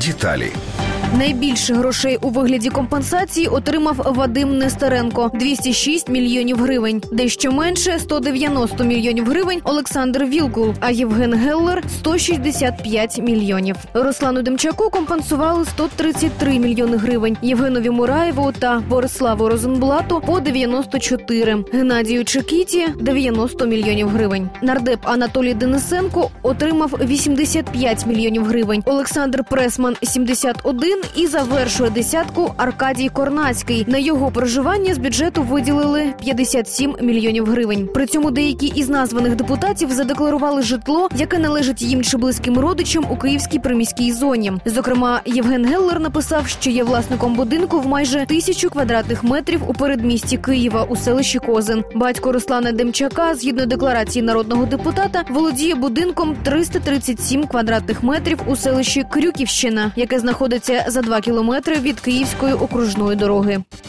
Деталі. Найбільше грошей у вигляді компенсації отримав Вадим Нестеренко – 206 мільйонів гривень. Дещо менше – 190 мільйонів гривень Олександр Вілкул, а Євген Геллер – 165 мільйонів. Руслану Демчаку компенсували 133 мільйони гривень, Євгенові Мураєву та Бориславу Розенблату – по 94, Геннадію Чекіті – 90 мільйонів гривень. Нардеп Анатолій Денисенко отримав 85 мільйонів гривень, Олександр Пресман – 71 і завершує десятку Аркадій Корнацький. На його проживання з бюджету виділили 57 мільйонів гривень. При цьому деякі із названих депутатів задекларували житло, яке належить їм чи близьким родичам у Київській приміській зоні. Зокрема, Євген Геллер написав, що є власником будинку в майже 1000 квадратних метрів у передмісті Києва у селищі Козин. Батько Руслана Демчака, згідно декларації народного депутата, володіє будинком 337 квадратних метрів у селищі Крюківщина, яке знаходиться за 2 кілометри від Київської окружної дороги.